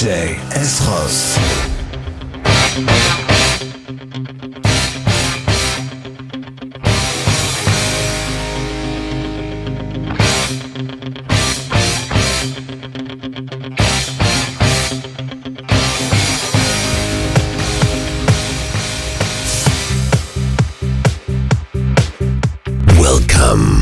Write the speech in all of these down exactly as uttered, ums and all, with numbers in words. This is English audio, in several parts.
J S-Ross. Welcome.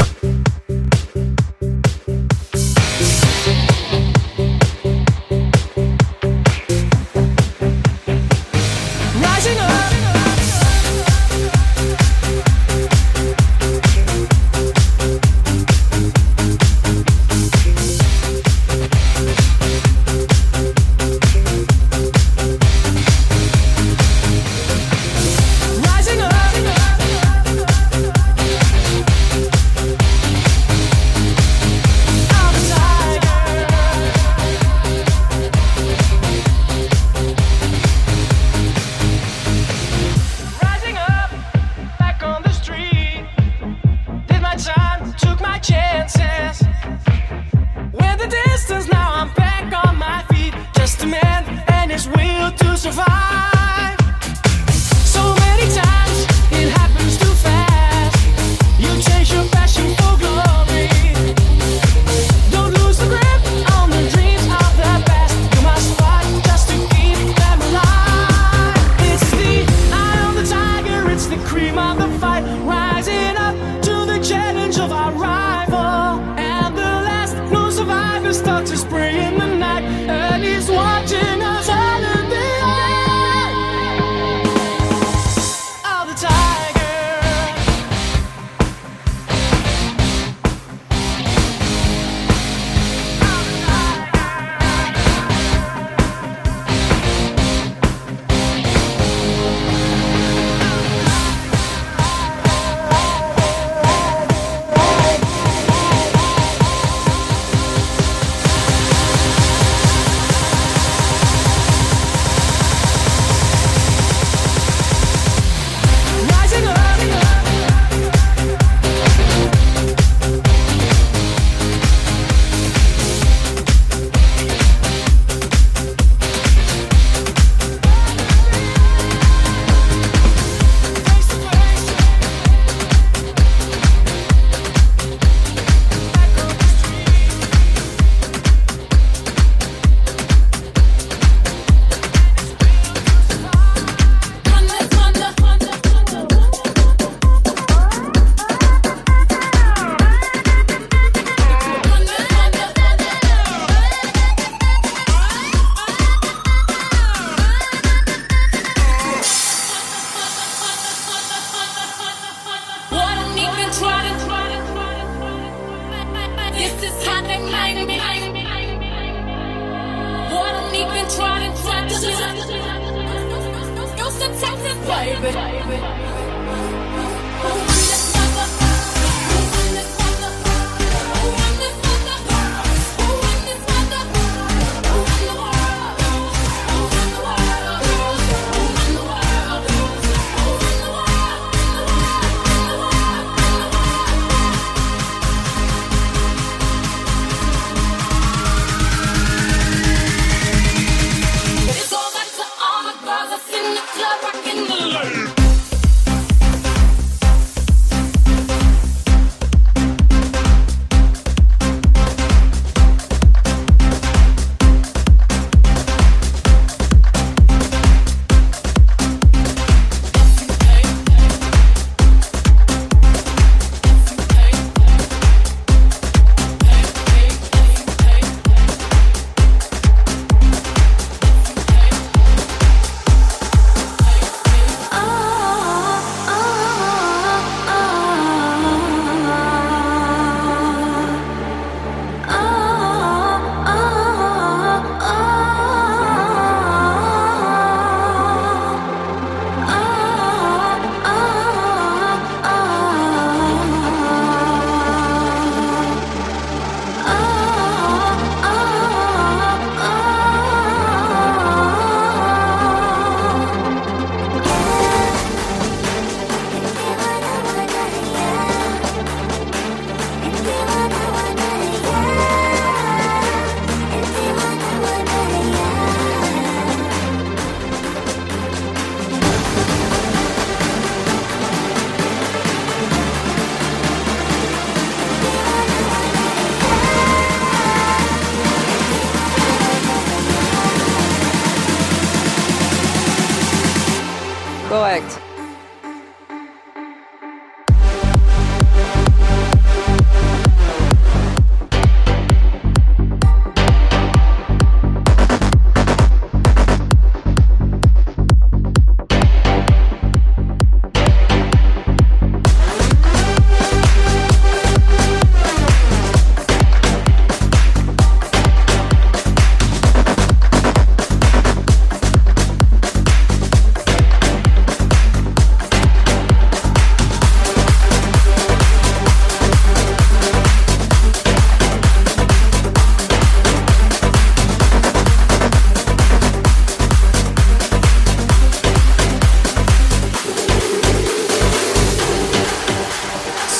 In the club, rockin' the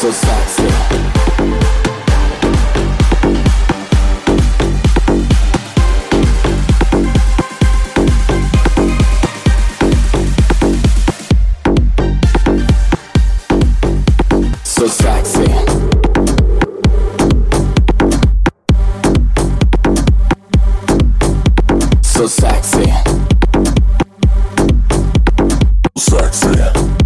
So sexy. So sexy. So sexy. Sexy.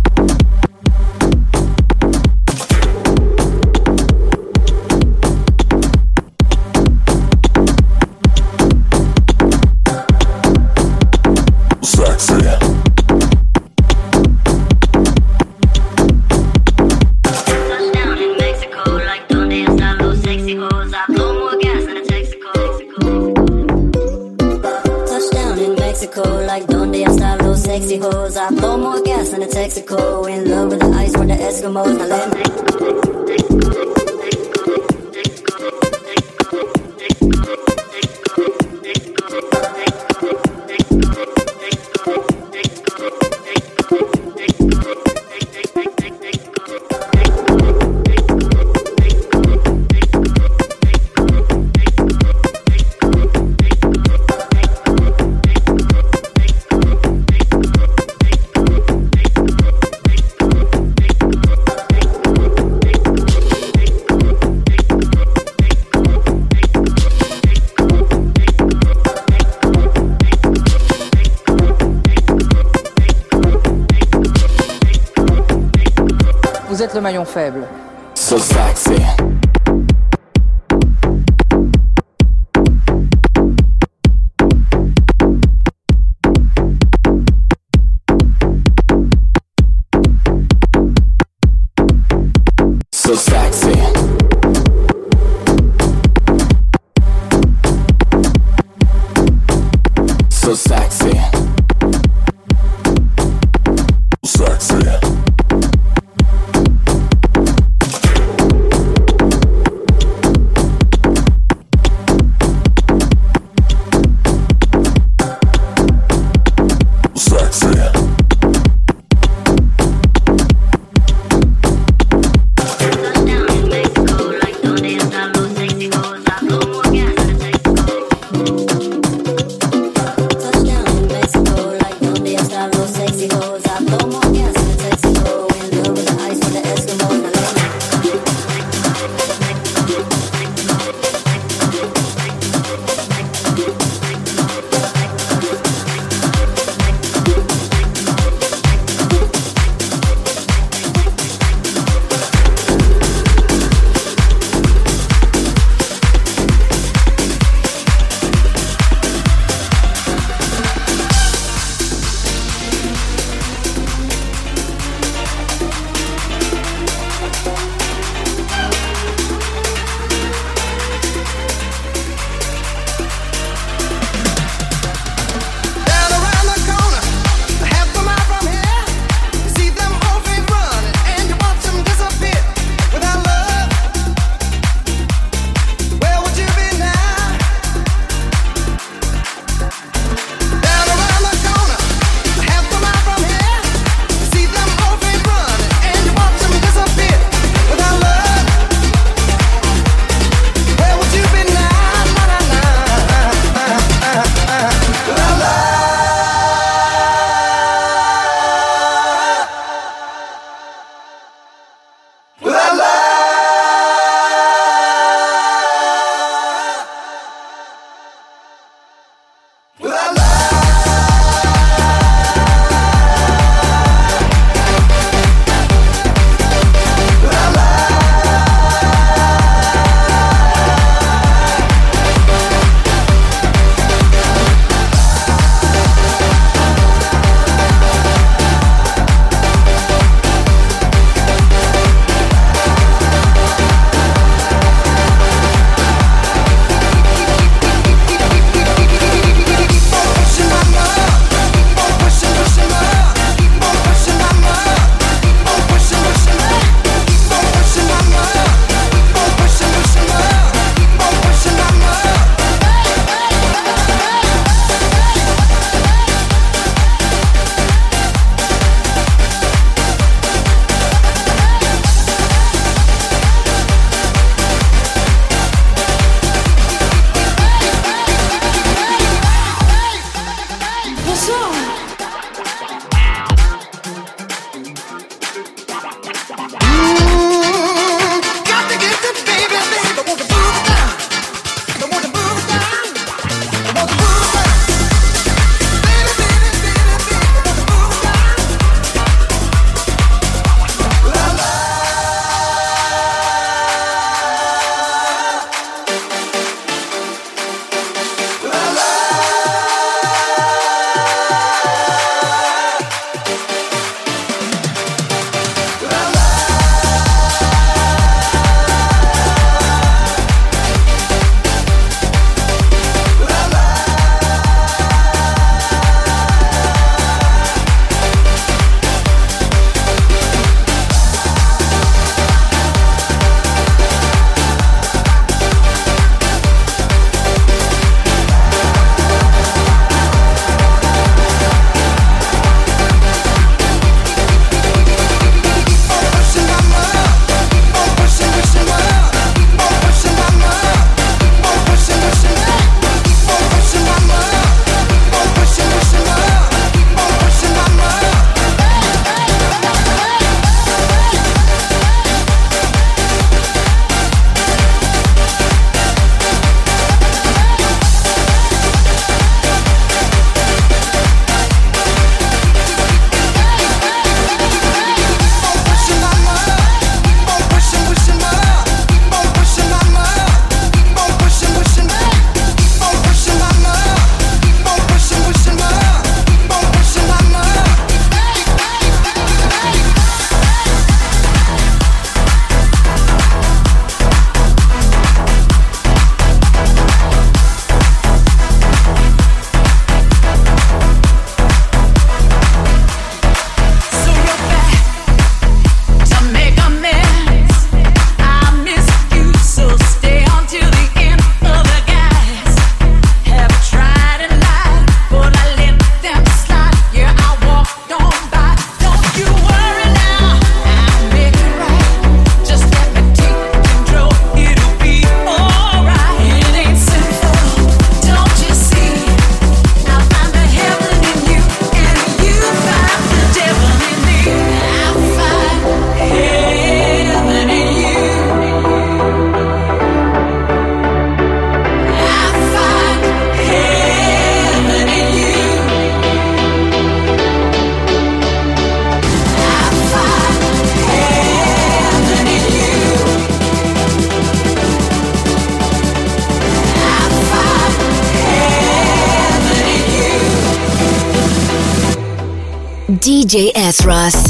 Sexy hoes, I blow more gas than a Texaco. In love with the ice, with the Eskimos. Now let me Vous êtes le maillon faible. So sexy. So sexy. So sexy. Sexy. J S-Ross.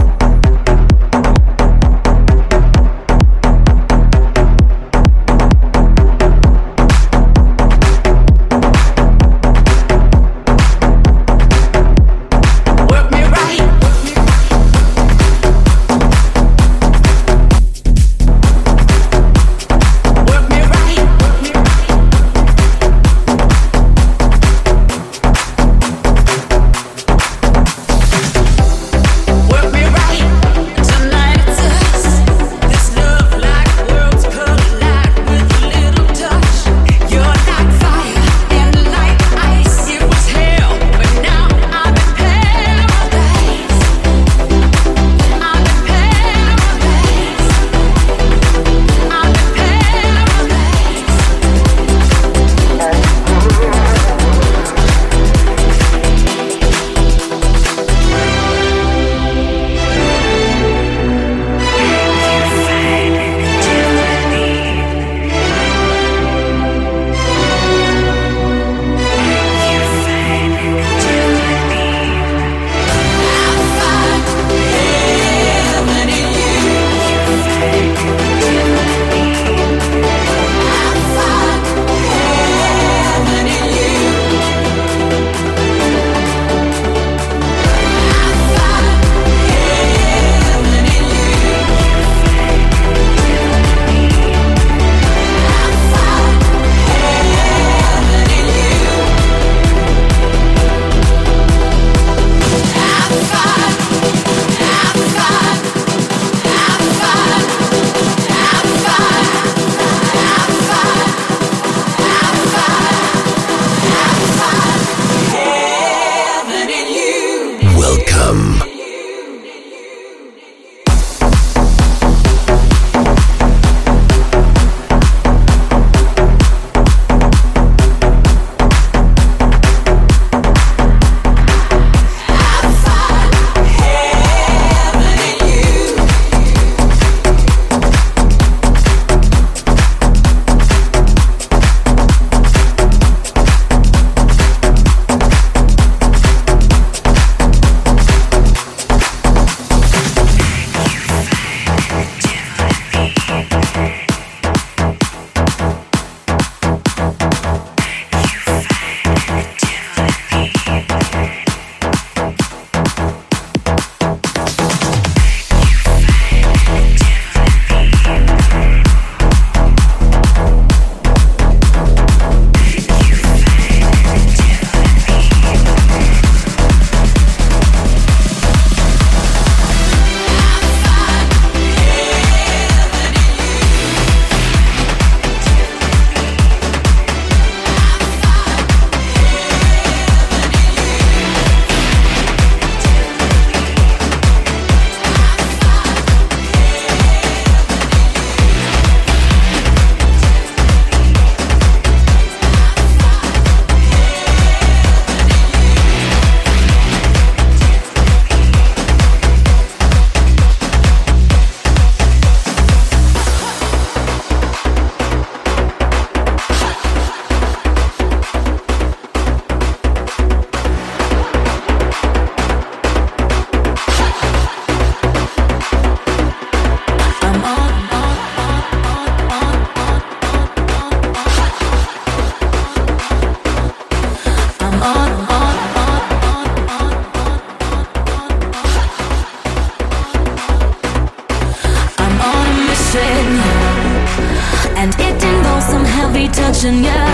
touching you.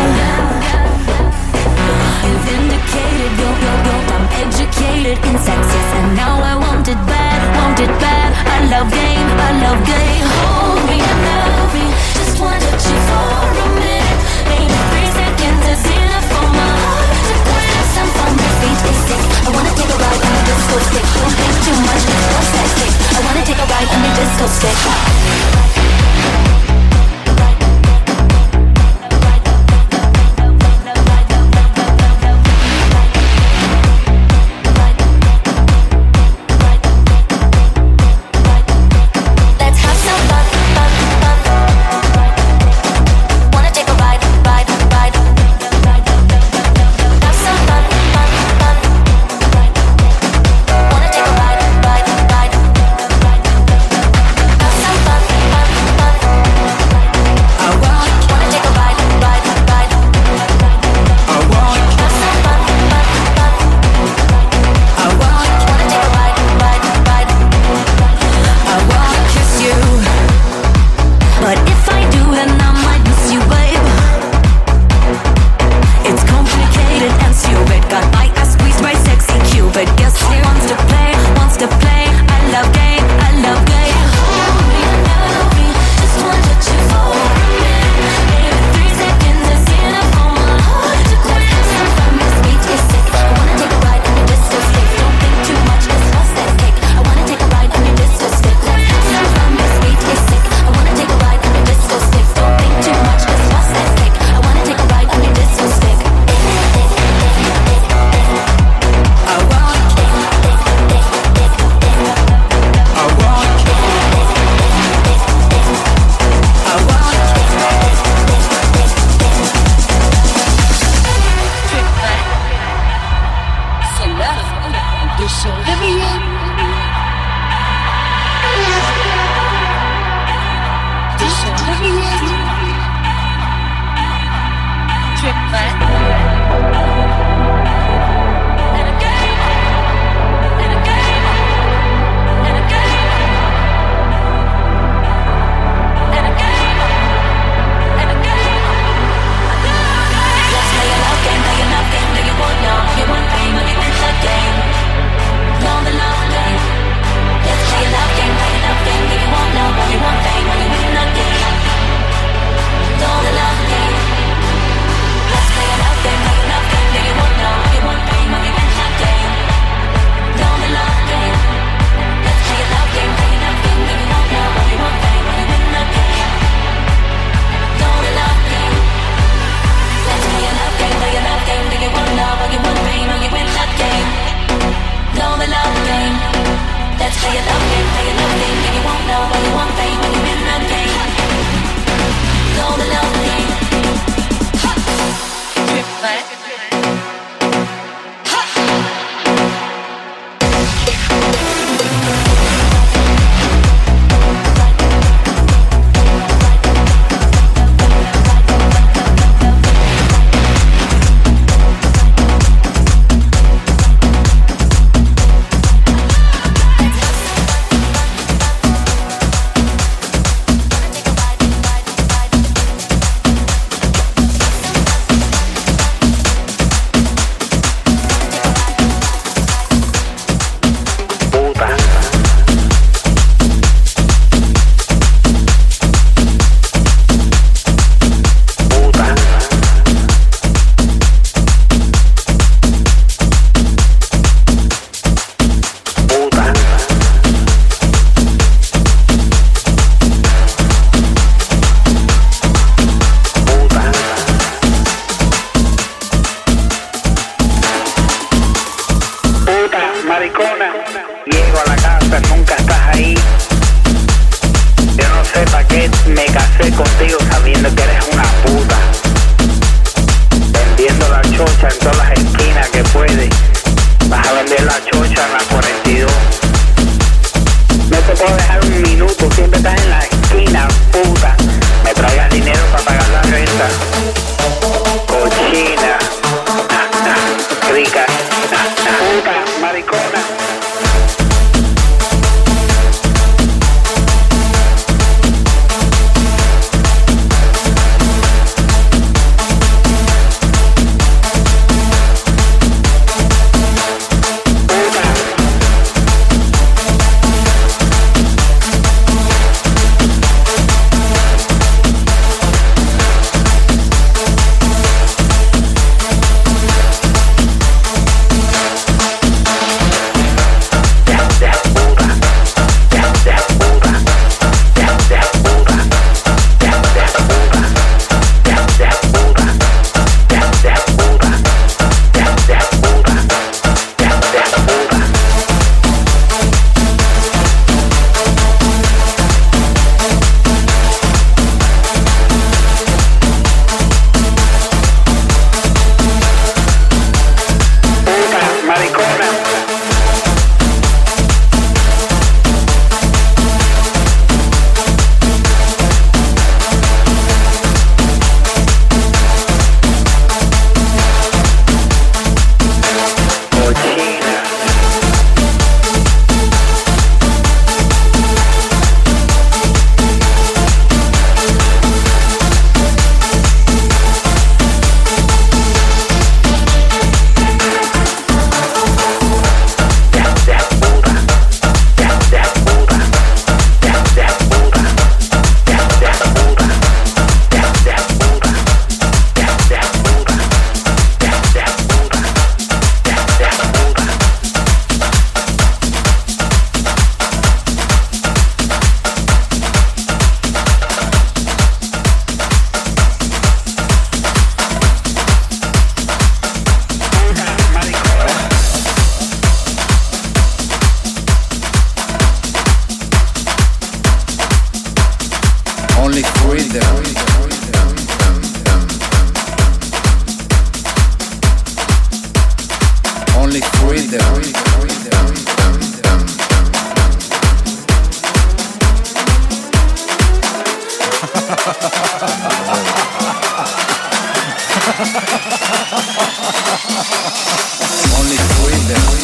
You've indicated you're, you're, you're, I'm educated in sexes, and now I want it bad, want it bad. I love game, I love game. Hold me, love me, just wanna touch you for a minute. Maybe three seconds is enough for my heart to quit. Some from your feet is sick. I wanna take a ride on the disco stick. Don't think too much, what's that stick? I wanna take a ride on the disco stick. Let's have some fun. Only freedom. Only freedom. Only freedom.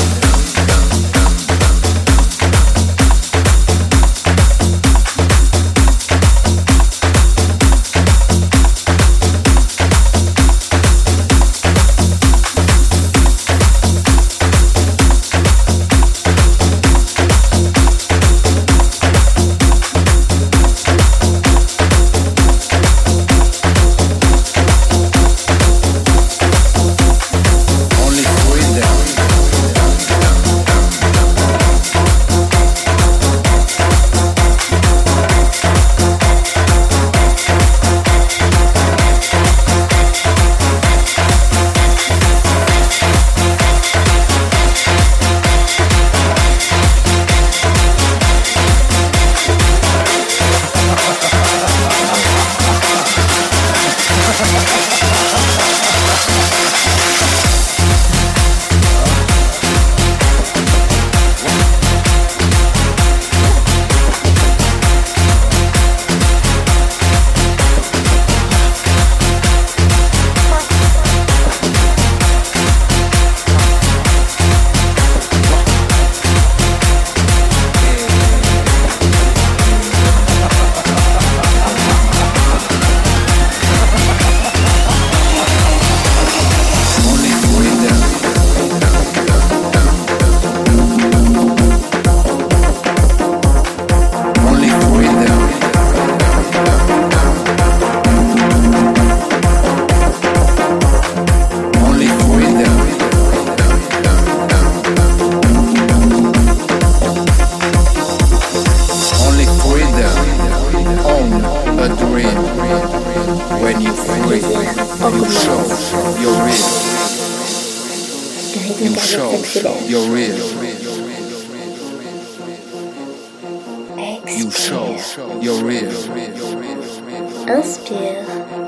Inspire.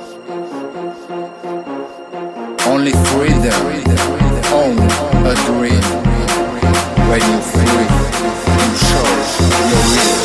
Only freedom, own a dream. When you free, you show you're real.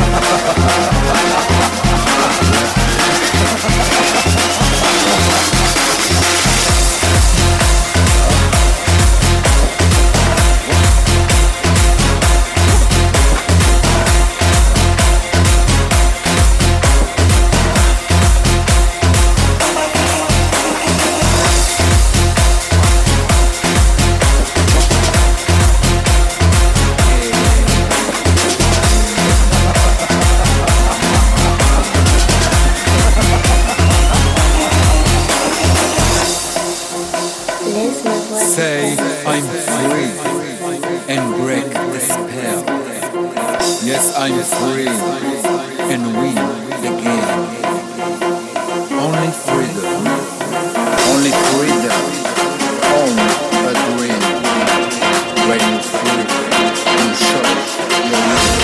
Say I'm free and break the spell. Yes, I'm free and win the game. Only freedom, only freedom, own a dream. When you free, you show your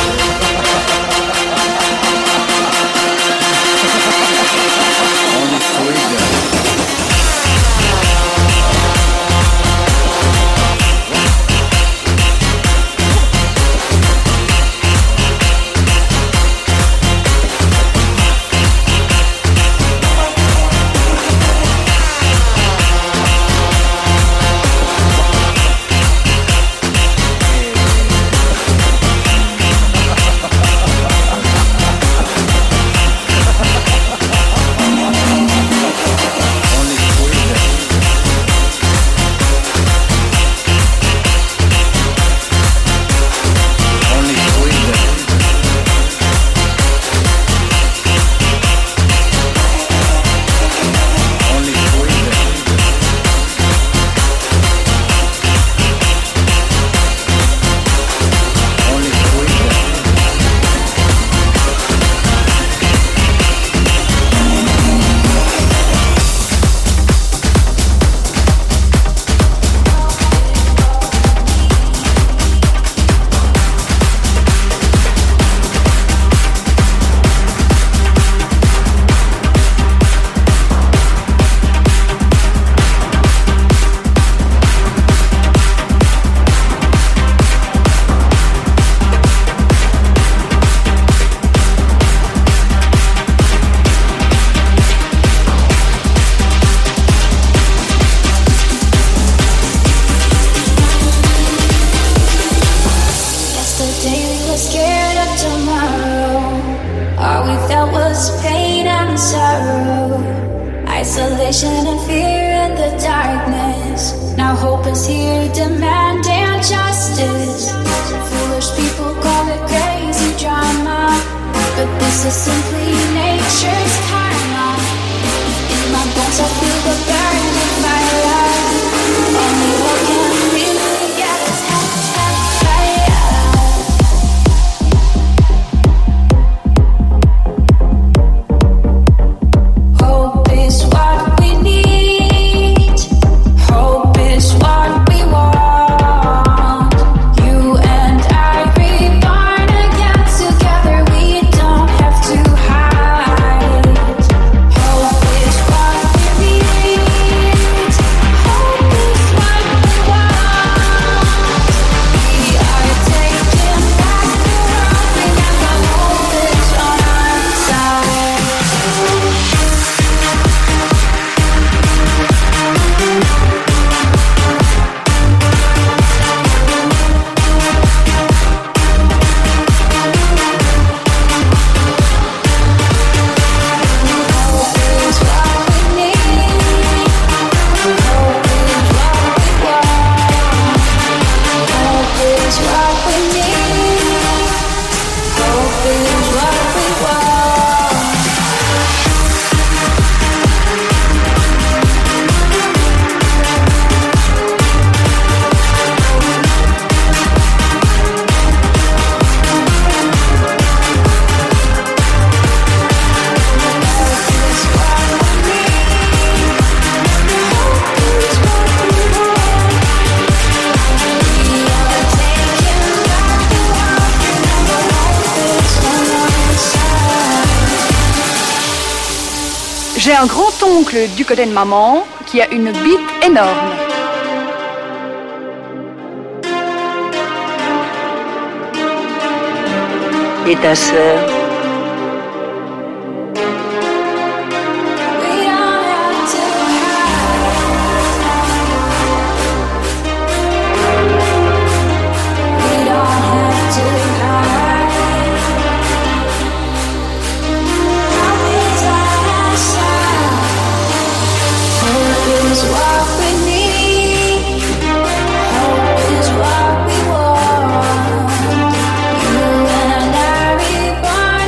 will. Only freedom. us pain and sorrow, isolation and fear in the darkness. Now hope is here demanding justice. Foolish people call it crazy drama, but this is simply nature's karma. In my bones I feel the burning fire. Only hope can really get us hope is what we need. Hope is what we want. You and I reborn again together. We don't have to hide. Hope is what we need. Hope is what we want. We are taking back the world. Remember, hope is on our side. J'ai un grand-oncle du côté de maman qui a une bite énorme. Et ta sœur? Born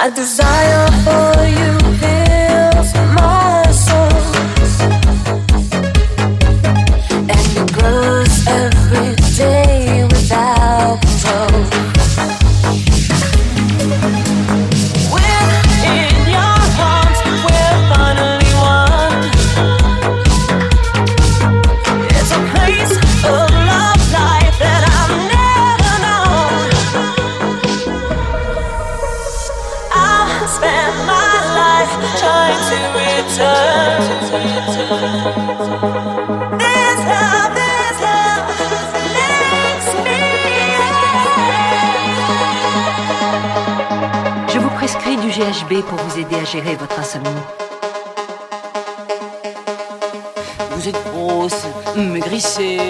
A desire for you fills my soul, and it grows every day without control. Within your arms, we're finally one. It's a place of love, life that I've never known. I spent my life trying to return. This love, this love makes me. Je vous prescris du G H B pour vous aider à gérer votre insomnie. Vous êtes grosse, maigrissée.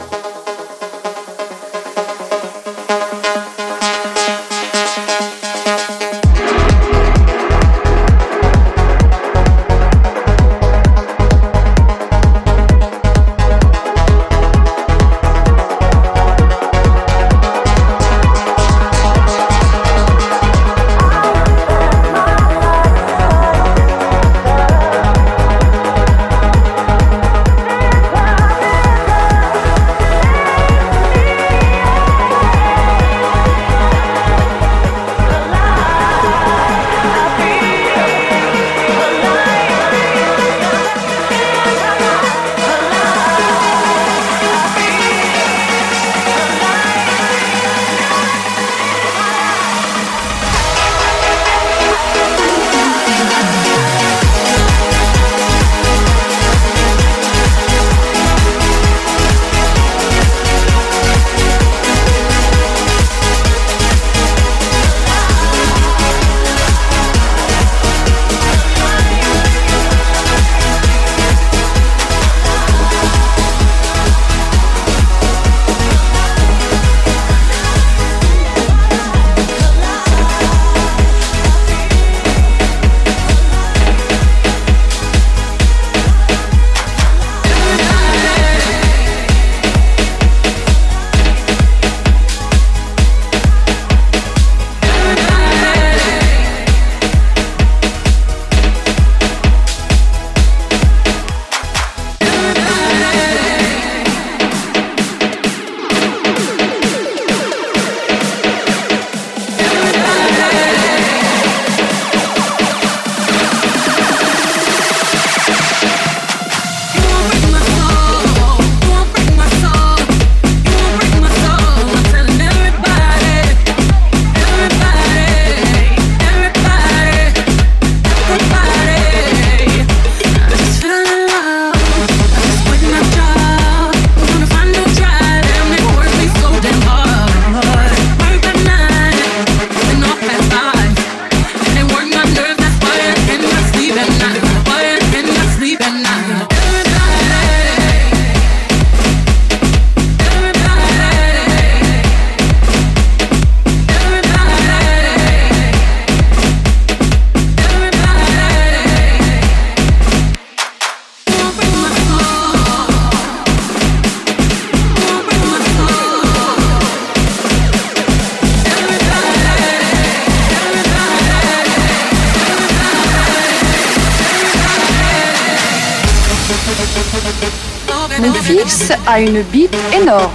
Mon fils a une bite énorme.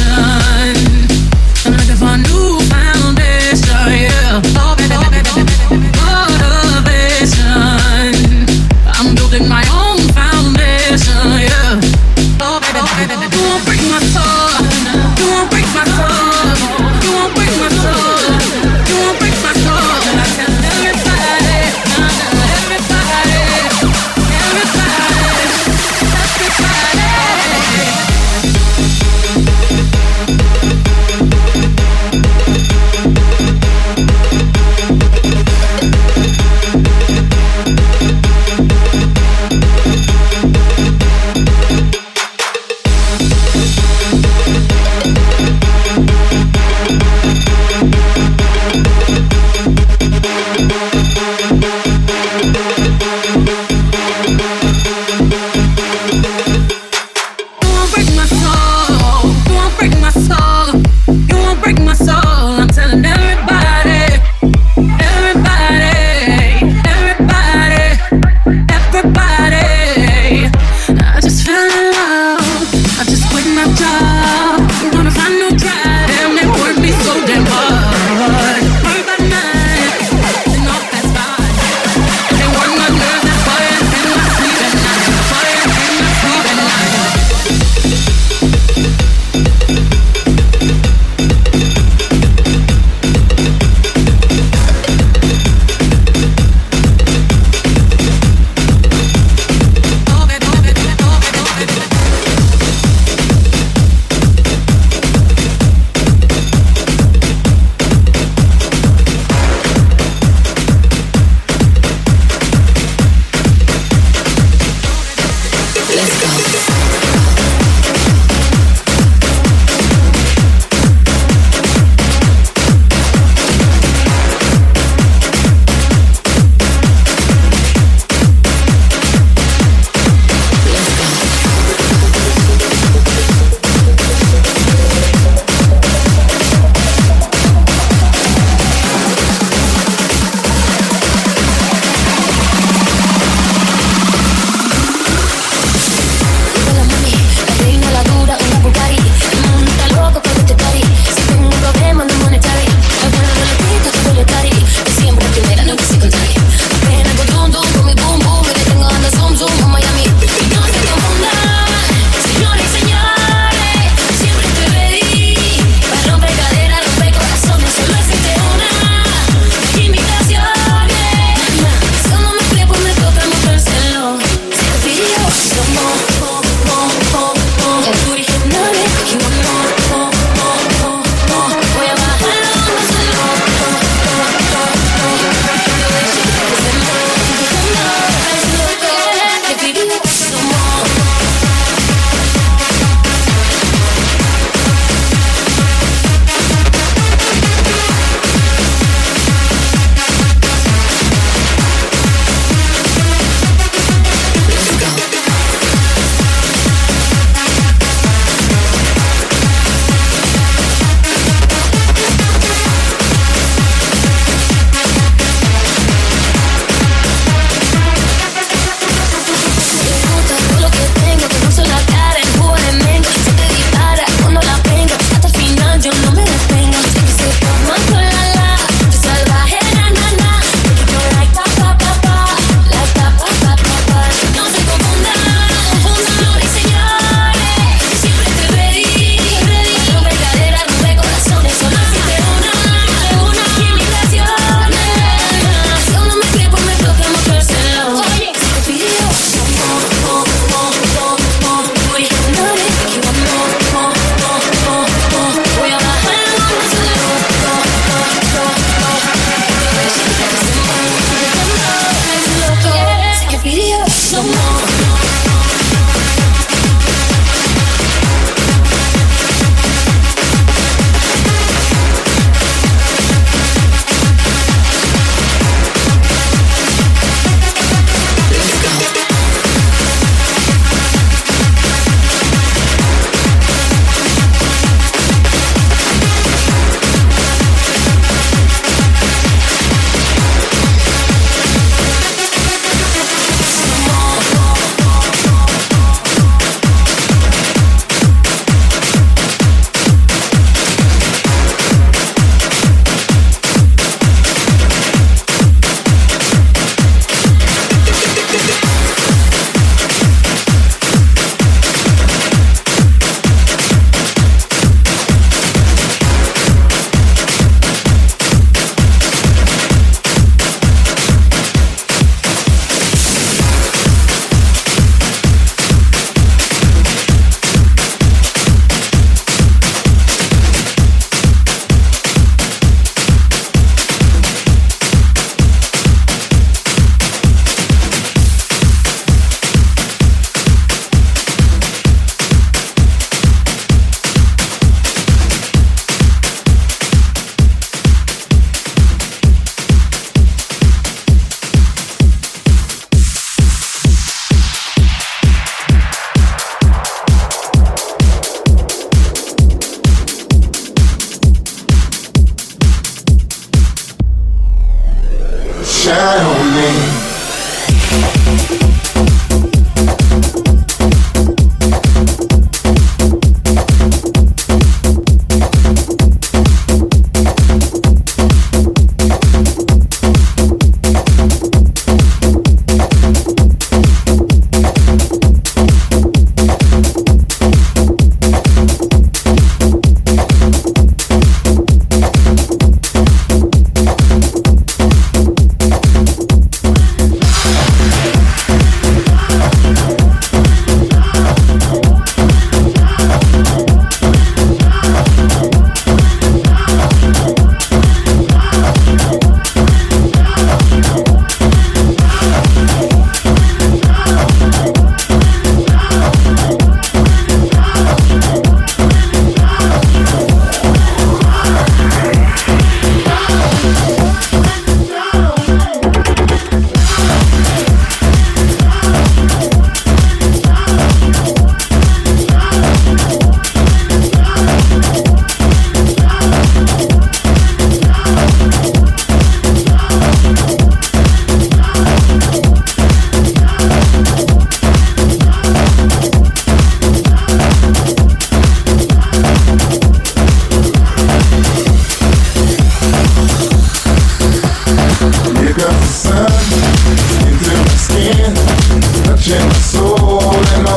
I'm looking for a new foundation, yeah.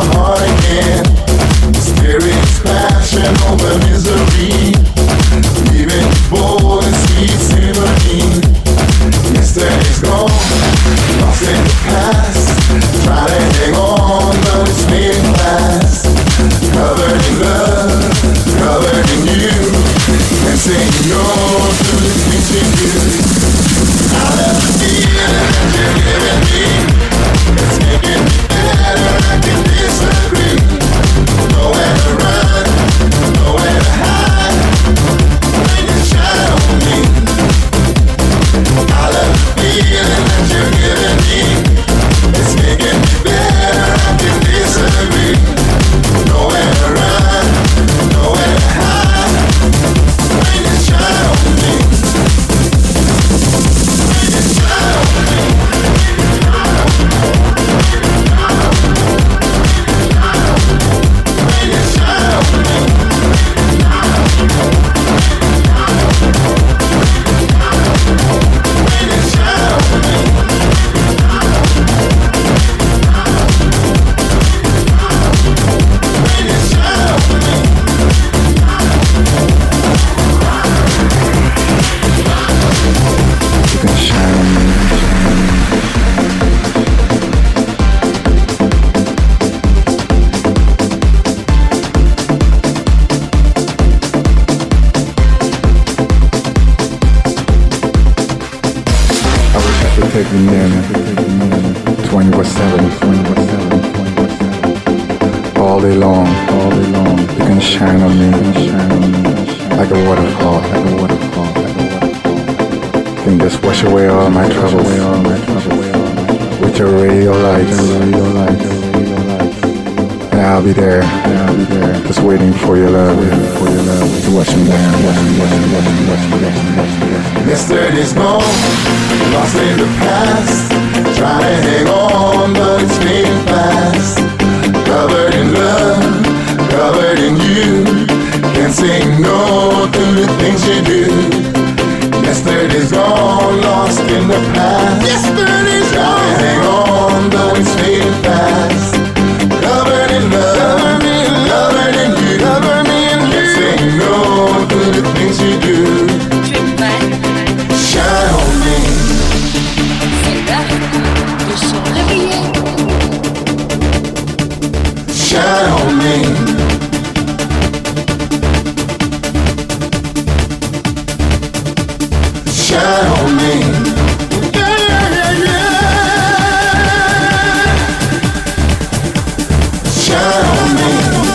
heart again. Spirits clashing over misery, leaving bold and sweet symphony. Yesterday's gone, lost in the past. Try to hang on, but it's fading fast. Covered in love, covered in you, and saying no to the things you do. I love the feeling that you're giving me. It's making me better, I can disagree. Nowhere to run, nowhere to hide. When you shine on me, I love the feeling that you're giving me. It's making me better, I can disagree. Nowhere to run, nowhere to hide. When you shine on me, when you shine on me. When you shine on me. When you shine on me. Take me in twenty-four seven, all day long, all day long. You can shine on me, like a waterfall, like a waterfall. You can just wash away all my troubles, with your radio lights, and I'll be there, just waiting for your love, to watch me down. Yesterday's gone, lost in the past. Trying to hang on, but it's fading fast. Covered in love, covered in you. Can't say no to the things you do. Yesterday's gone, lost in the past. Yesterday's gone. Trying to hang on, but it's fading fast. Covered in love, covered in you. Cover me in you. Can't say no to the things you do. Shine on me. Shine on me. Shine on me. Yeah, yeah, yeah. Shine on me.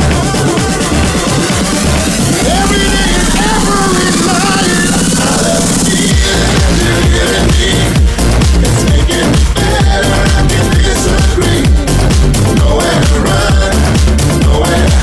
Every day and every night. I love the feeling that you're giving me. It's making me better, I can disagree. Nowhere to run, nowhere to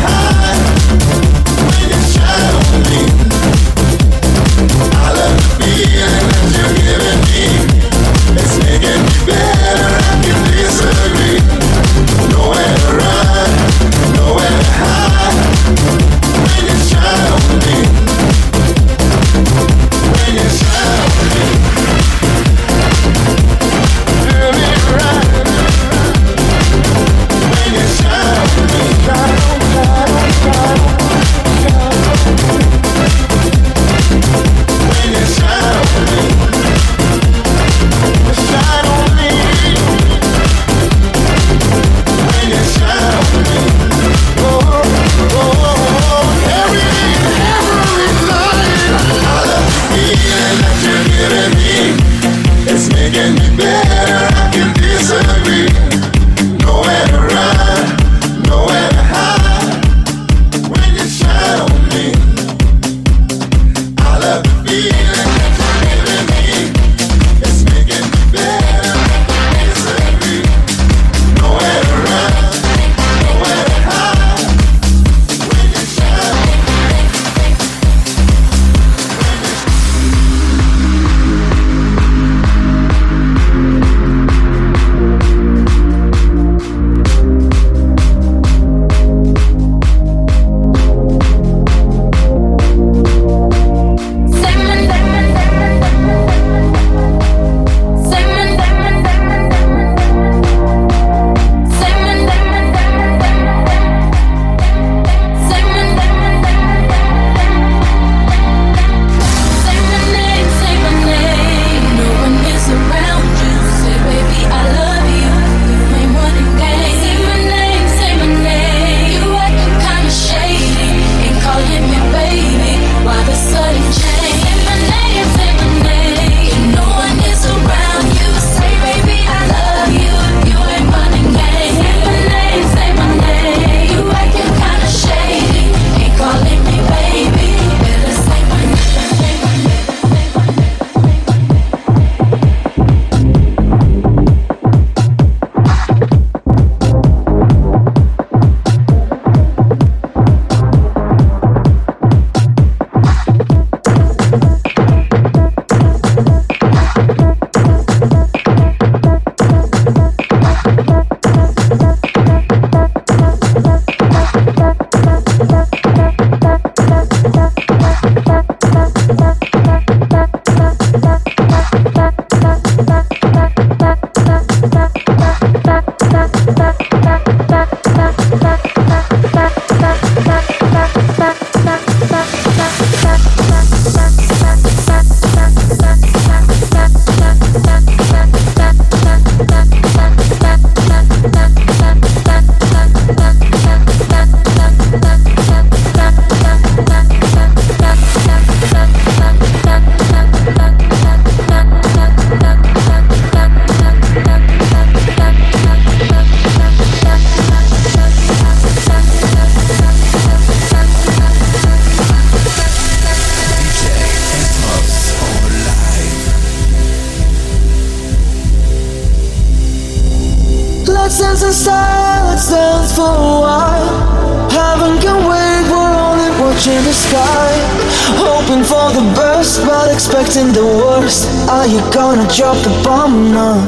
What sense in silence dance for a while? Heaven can wait, we're only watching the sky, hoping for the best but expecting the worst. Are you gonna drop the bomb now?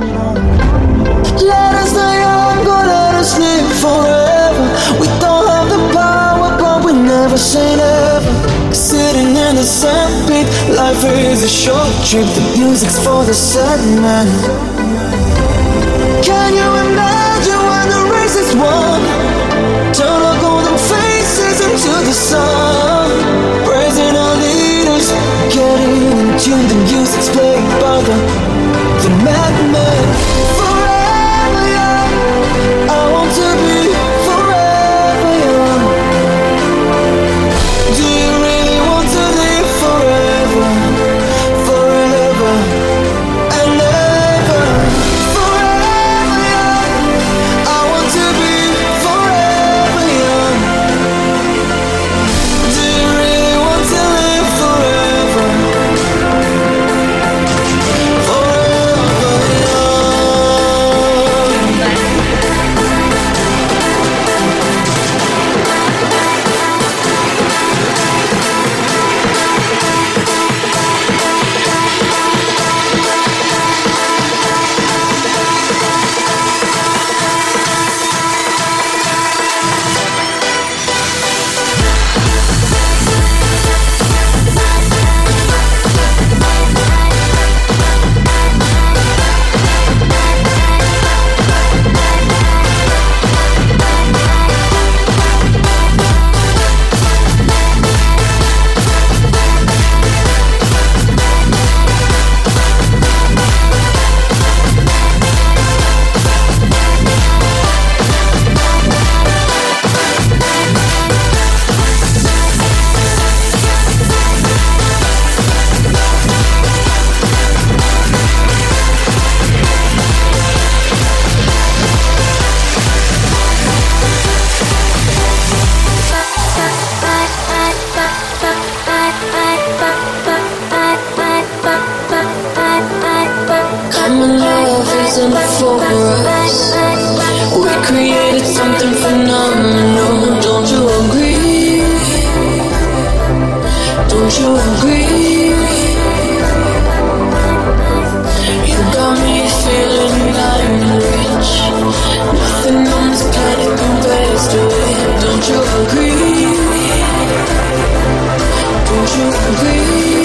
Let us die young, but let us live forever. We don't have the power, but we never say never. Sitting in the sandpit, life is a short trip. The music's for the sad man. Can you imagine when the race is won? Turn our golden faces into the sun, praising our leaders, getting in tune. The music's played by the, the madman. Forever young, I want to be forever young. Do you really want to live forever, forever and ever? Forever young, I want to be forever young. Do you really want to live forever, forever young? Common love isn't for us. We created something phenomenal. Don't you agree? Don't you agree? You got me feeling like rich. Nothing on this planet compares to it. Don't you agree? Don't you agree?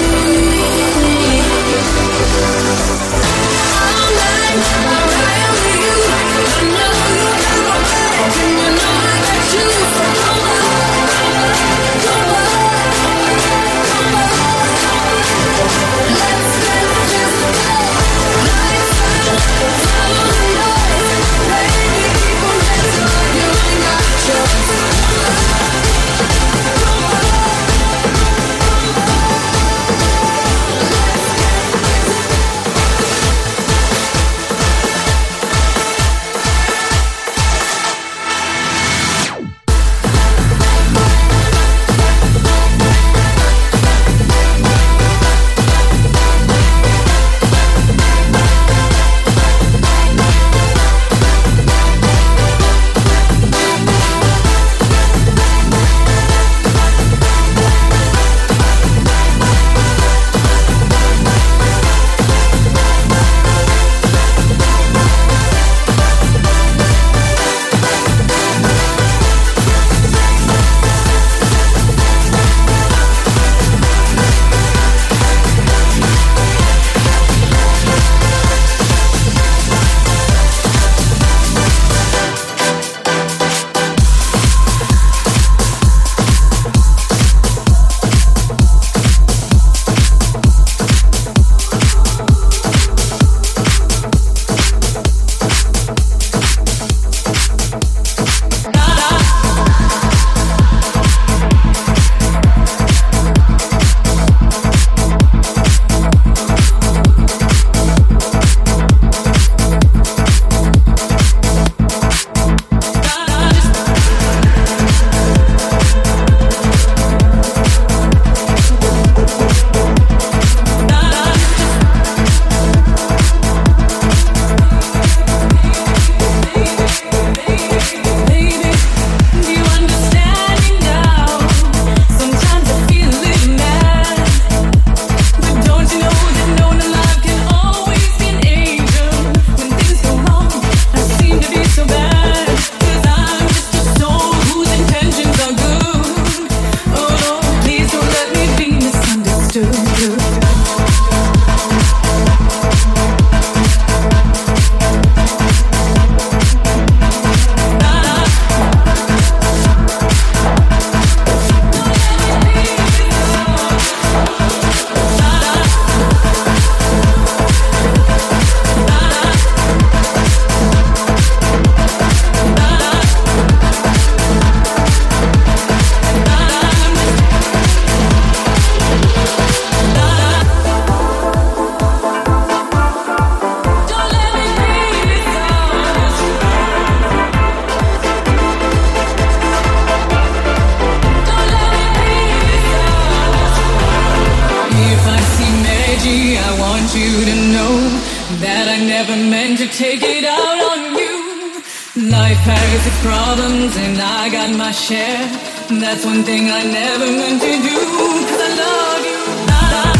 Life has its problems and I got my share. That's one thing I never meant to do, 'cause I love you. I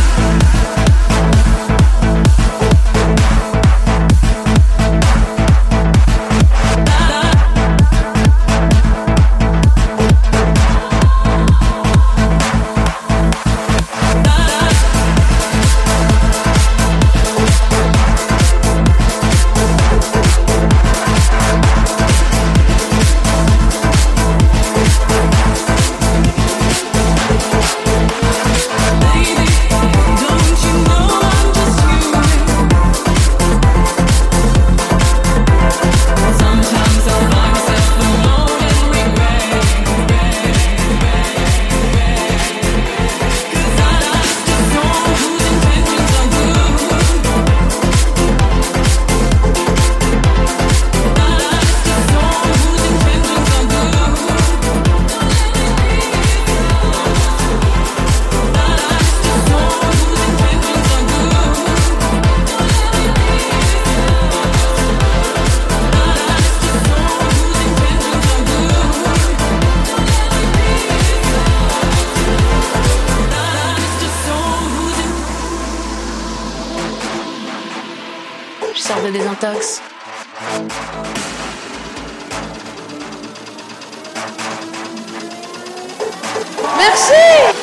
de désintox. Merci!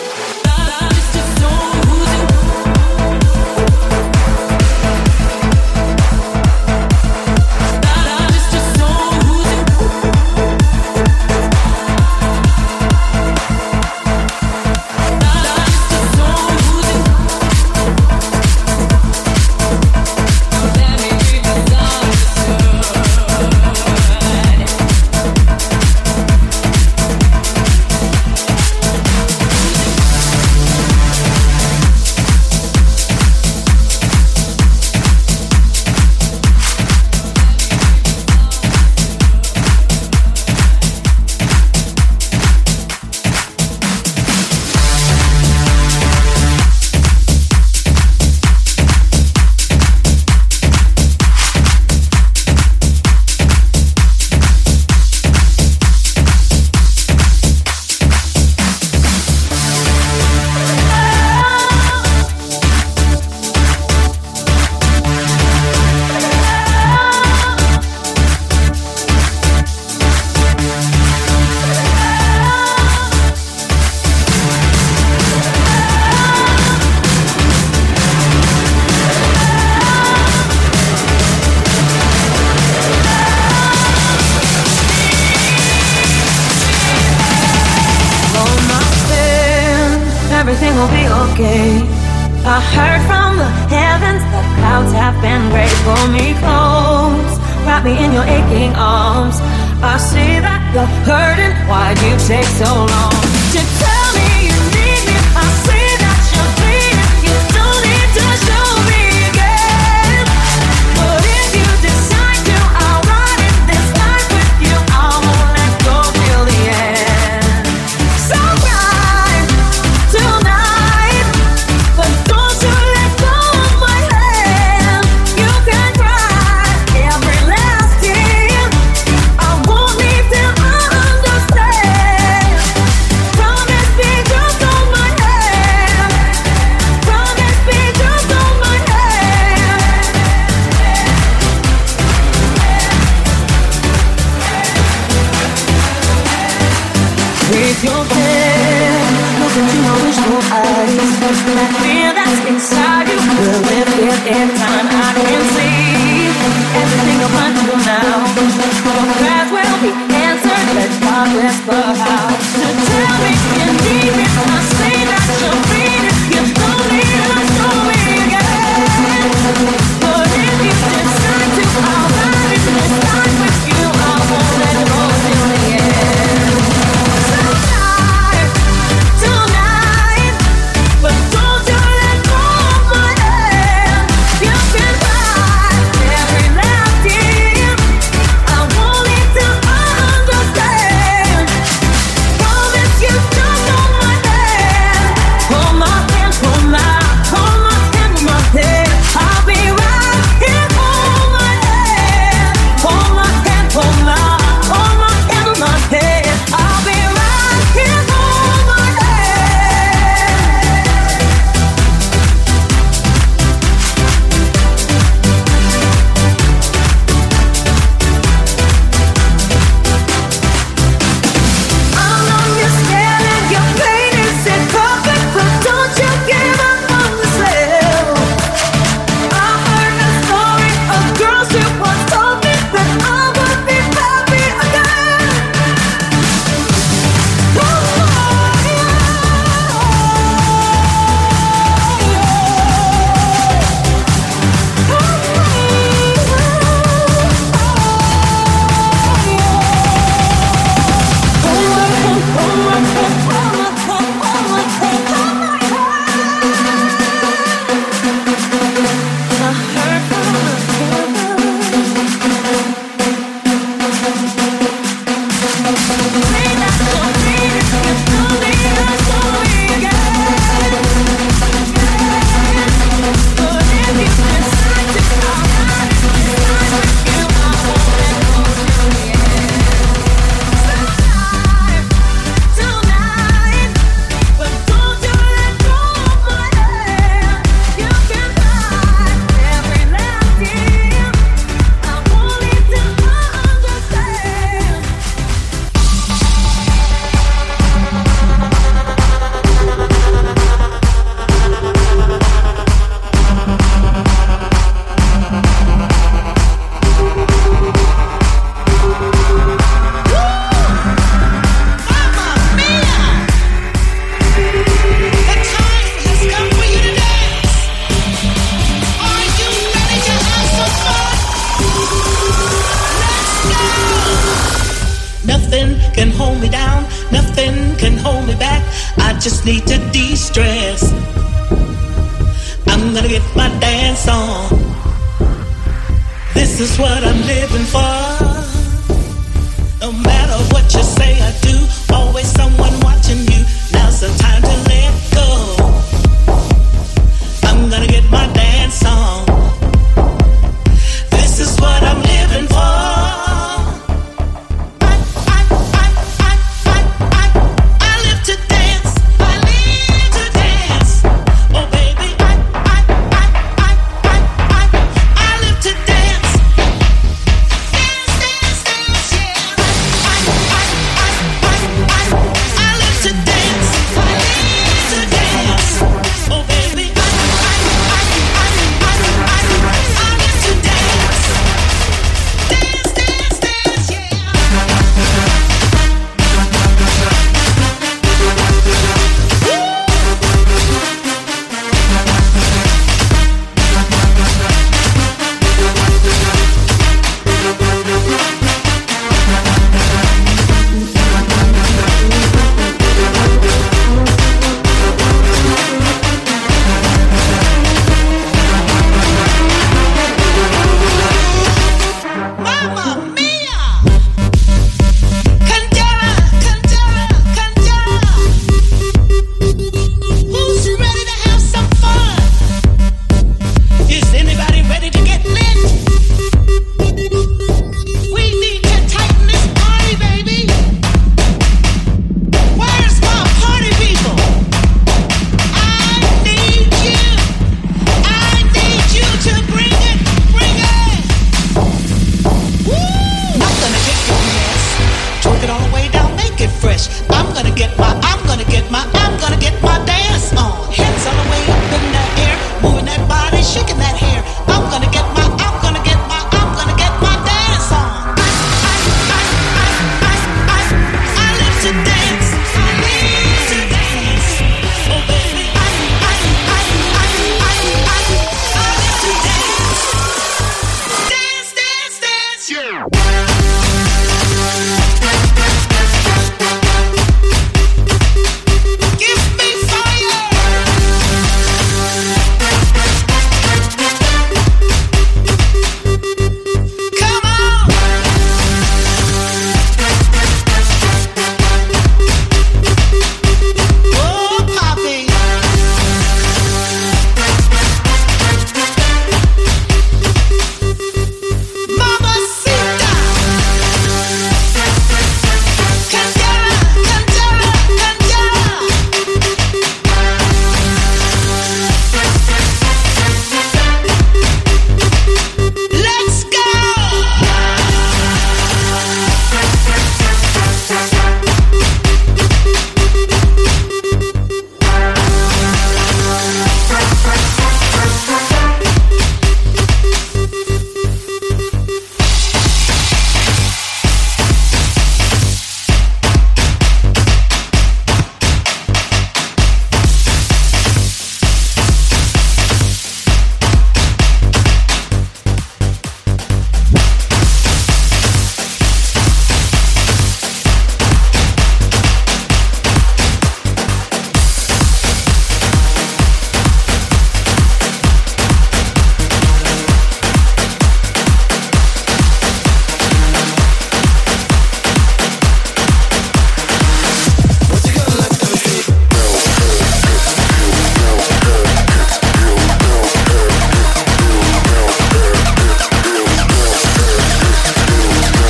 Everything will be okay. I heard from the heavens, the clouds have been great. Pull me close, wrap me in your aching arms. I see that you're hurting, why'd you take so long to tell me you need me? I see that you're bleeding, you don't need to show me again. But if you decide to, I'll ride in this life with you. I won't let go till the end. So cry tonight, but don't you let go of my hand. You can cry every last tear, I won't leave till I understand. Promise me just hold my hand. Promise me just hold my hand. With your head, look into my wishful eyes. That fear that's inside you will lift it in time. I can see everything you're going through now. Your prayers will be answered. Let God whisper how to tell me you need me. I see that you're bleeding. You don't need to show me again. But if you decide to, I'll ride in this life with you. I won't let go till the end. So tonight, tonight, but don't you let go of my hand. You can cry every last tear, I won't leave till I understand. Nothing can hold me down, nothing can hold me back. I just need to de-stress. I'm gonna get my dance on. This is what I'm living for. No matter what you say or do, always someone watching you. Now's the time to let go. I'm gonna get my dance on. This is what I'm living for.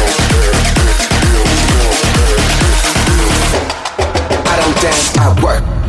I work.